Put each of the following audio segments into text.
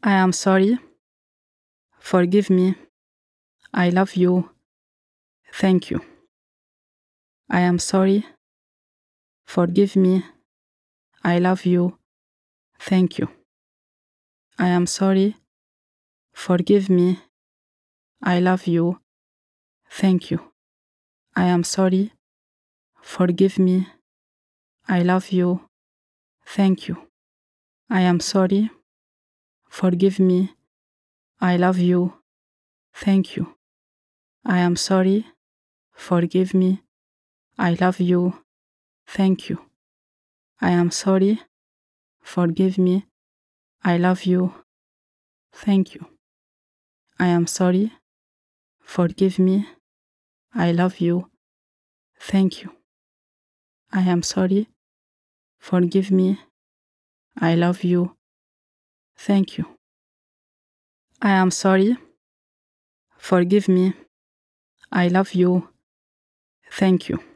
I am sorry. Forgive me. I love you. Thank you. I am sorry. Forgive me. I love you. Thank you. I am sorry. Forgive me. I love you. Thank you. I am sorry. Forgive me. I love you. Thank you. I am sorry. Forgive me. I love you. Thank you. I am sorry. Forgive me. I love you. Thank you. I am sorry. Forgive me. I love you. Thank you. I am sorry. Forgive me. I love you. Thank you. I am sorry. Forgive me. I love you. Thank you. I am sorry. Forgive me. I love you. Thank you.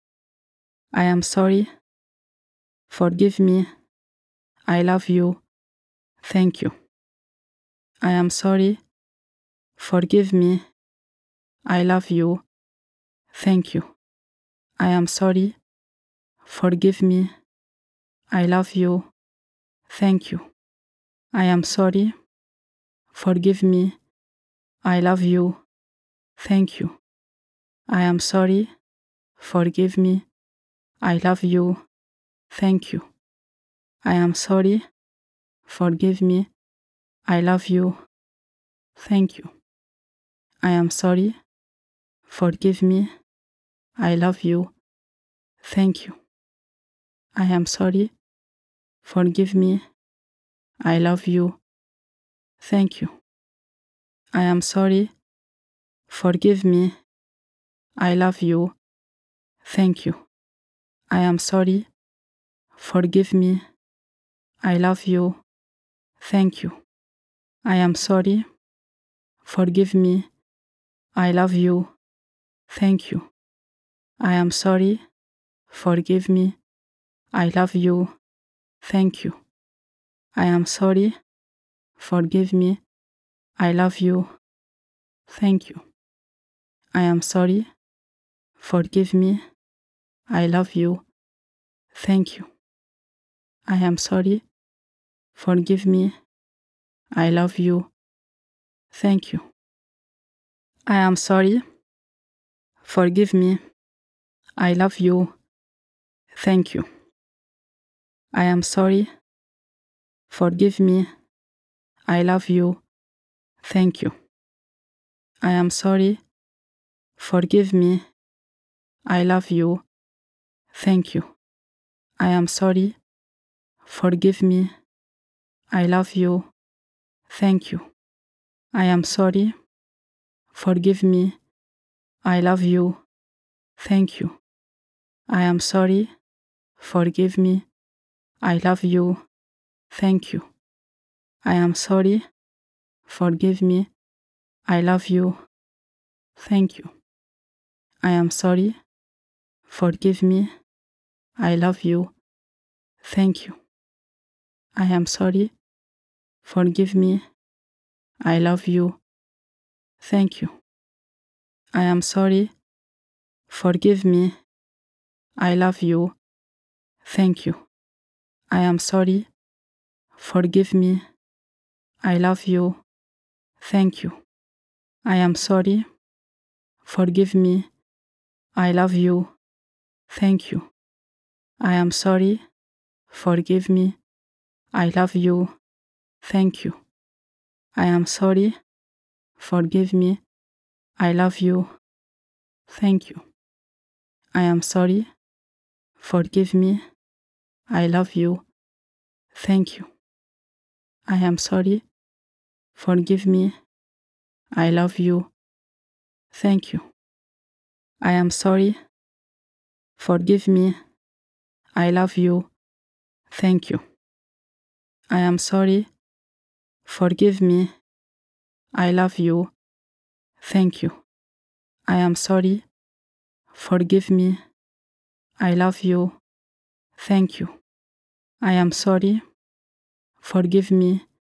I am sorry. Forgive me. I love you. Thank you. I am sorry. Forgive me. I love you. Thank you. I am sorry. Forgive me. I love you. Thank you. I am sorry. Forgive me. I love you. Thank you. I am sorry. Forgive me. I love you. Thank you. I am sorry. Forgive me. I love you. Thank you. I am sorry. Forgive me. I love you. Thank you. I am sorry. Forgive me. I love you. Thank you. I am sorry. Forgive me. I love you. Thank you. I am sorry. Forgive me. I love you. Thank you. I am sorry. Forgive me. I love you. Thank you. I am sorry. Forgive me. I love you. Thank you. I am sorry. Forgive me. I love you. Thank you. I am sorry. Forgive me. I love you. Thank you. I am sorry. Forgive me. I love you. Thank you. I am sorry. Forgive me. I love you. Thank you. I am sorry. Forgive me. I love you. Thank you. I am sorry. Forgive me. I love you. Thank you. I am sorry. Forgive me. I love you. Thank you. I am sorry. Forgive me. I love you. Thank you. I am sorry. Forgive me. I love you. Thank you. I am sorry. Forgive me. I love you. Thank you. I am sorry. Forgive me. I love you. Thank you. I am sorry. Forgive me. I love you. Thank you. I am sorry. Forgive me. I love you. Thank you. I am sorry. Forgive me. I love you. Thank you. I am sorry. Forgive me. I love you. Thank you. I am sorry. Forgive me. I love you. Thank you. I am sorry. Forgive me. I love you. Thank you. I am sorry. Forgive me. I love you. Thank you. I am sorry. Forgive me. I love you. Thank you. I am sorry. Forgive me. I love you. Thank you. I am sorry. Forgive me. I love you. Thank you. I am sorry. Forgive me. I love you. Thank you. I am sorry. Forgive me.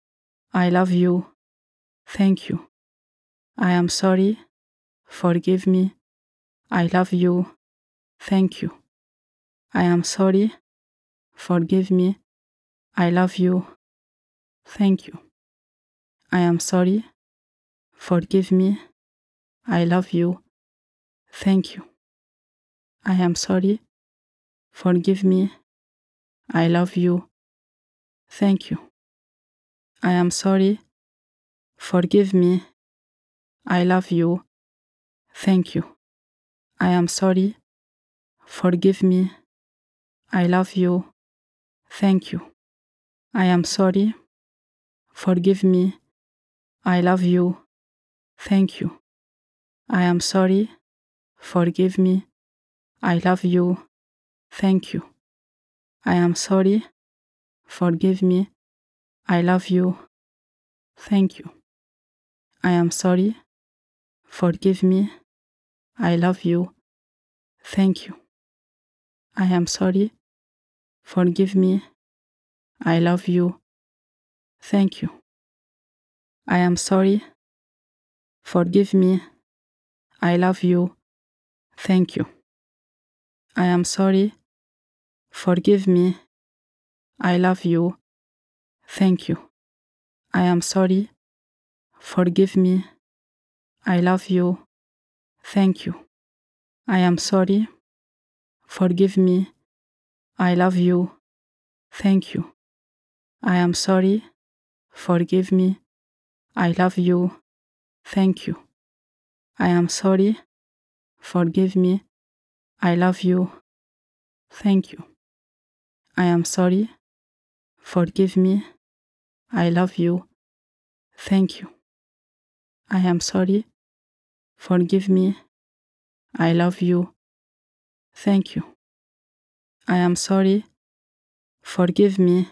I love you. Thank you. I am sorry. Forgive me. I love you. Thank you. I am sorry. Forgive me. I love you. Thank you. I am sorry. Forgive me. I love you. Thank you. I am sorry. Forgive me. I love you. Thank you. I am sorry. Forgive me. I love you. Thank you. I am sorry. Forgive me. I love you. Thank you. I am sorry. Forgive me. I love you. Thank you. I am sorry. Forgive me. I love you. Thank you. I am sorry. Forgive me. I love you. Thank you. I am sorry. Forgive me. I love you. Thank you. I am sorry. Forgive me. I love you. Thank you. I am sorry. Forgive me. I love you. Thank you. I am sorry. Forgive me. I love you. Thank you. I am sorry. Forgive me. I love you. Thank you. I am sorry. Forgive me. I love you. Thank you. I am sorry. Forgive me. I love you. Thank you. I am sorry. Forgive me. I love you. Thank you. I am sorry. Forgive me. I love you. Thank you. I am sorry. Forgive me. I love you. Thank you. I am sorry. Forgive me.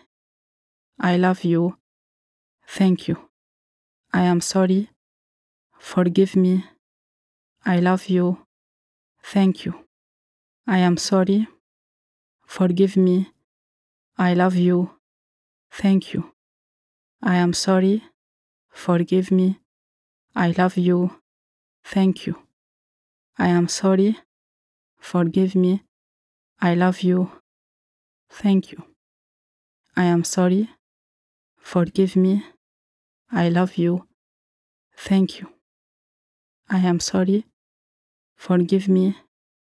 I love you. Thank you. I am sorry. Forgive me. I love you. Thank you. I am sorry. Forgive me. I love you. Thank you. I am sorry. Forgive me. I love you. Thank you. I am sorry. Forgive me. I love you. Thank you. I am sorry. Forgive me. I love you. Thank you. I am sorry. Forgive me.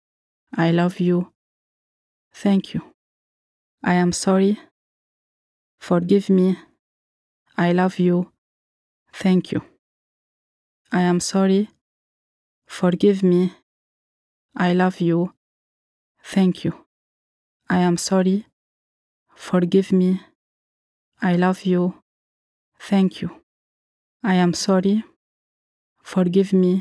I love you. Thank you. I am sorry. Forgive me. I love you. Thank you. I am sorry. Forgive me. I love you. Thank you. I am sorry. Forgive me. I love you. Thank you. I am sorry. Forgive me.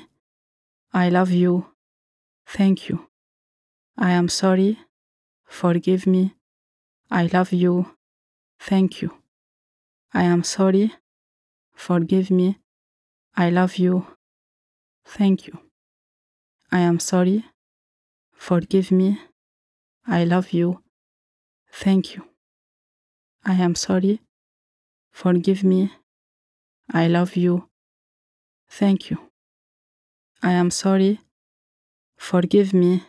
I love you. Thank you. I am sorry. Forgive me. I love you. Thank you. I am sorry. Forgive me. I love you. Thank you. I am sorry. Forgive me. I love you. Thank you. I am sorry. Forgive me. I love you. Thank you. I am sorry. Forgive me.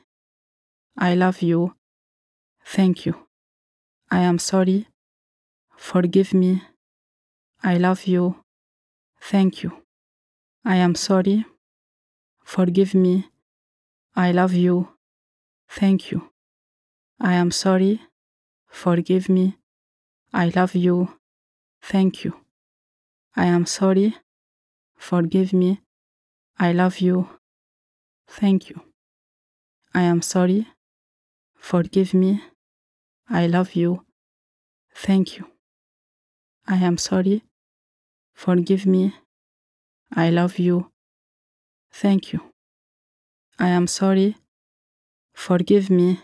I love you. Thank you. I am sorry. Forgive me. I love you. Thank you. I am sorry. Forgive me. I love you. Thank you. I am sorry. Forgive me. I love you. Thank you. I am sorry. Forgive me. I love you. Thank you. I am sorry. Forgive me. I love you. Thank you. I am sorry. Forgive me. I love you. Thank you. I am sorry. Forgive me.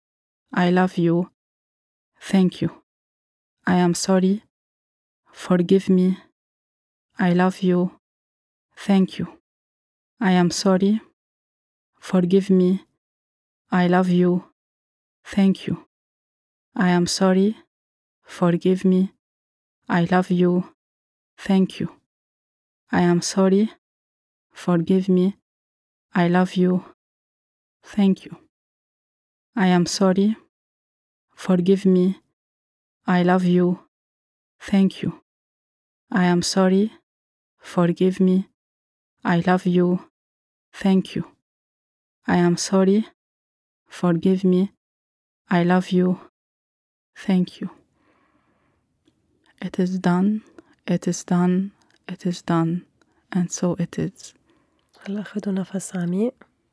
I love you. Thank you. I am sorry. Forgive me. I love you. Thank you. I am sorry. Forgive me. I love you. Thank you. I am sorry. Forgive me. I love you. Thank you. I am sorry. Forgive me. I love you. Thank you. I am sorry. Forgive me. I love you. Thank you. I am sorry. Forgive me. I love you. Thank you. I am sorry. Forgive me. I love you. Thank you. It is done. It is done. It is done. And so it is. هلا خدوا نفس عميق.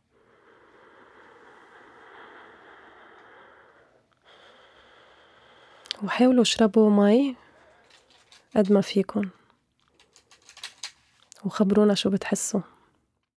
وحاولوا اشربوا مي قد ما فيكن، وخبرونا شو بتحسوا.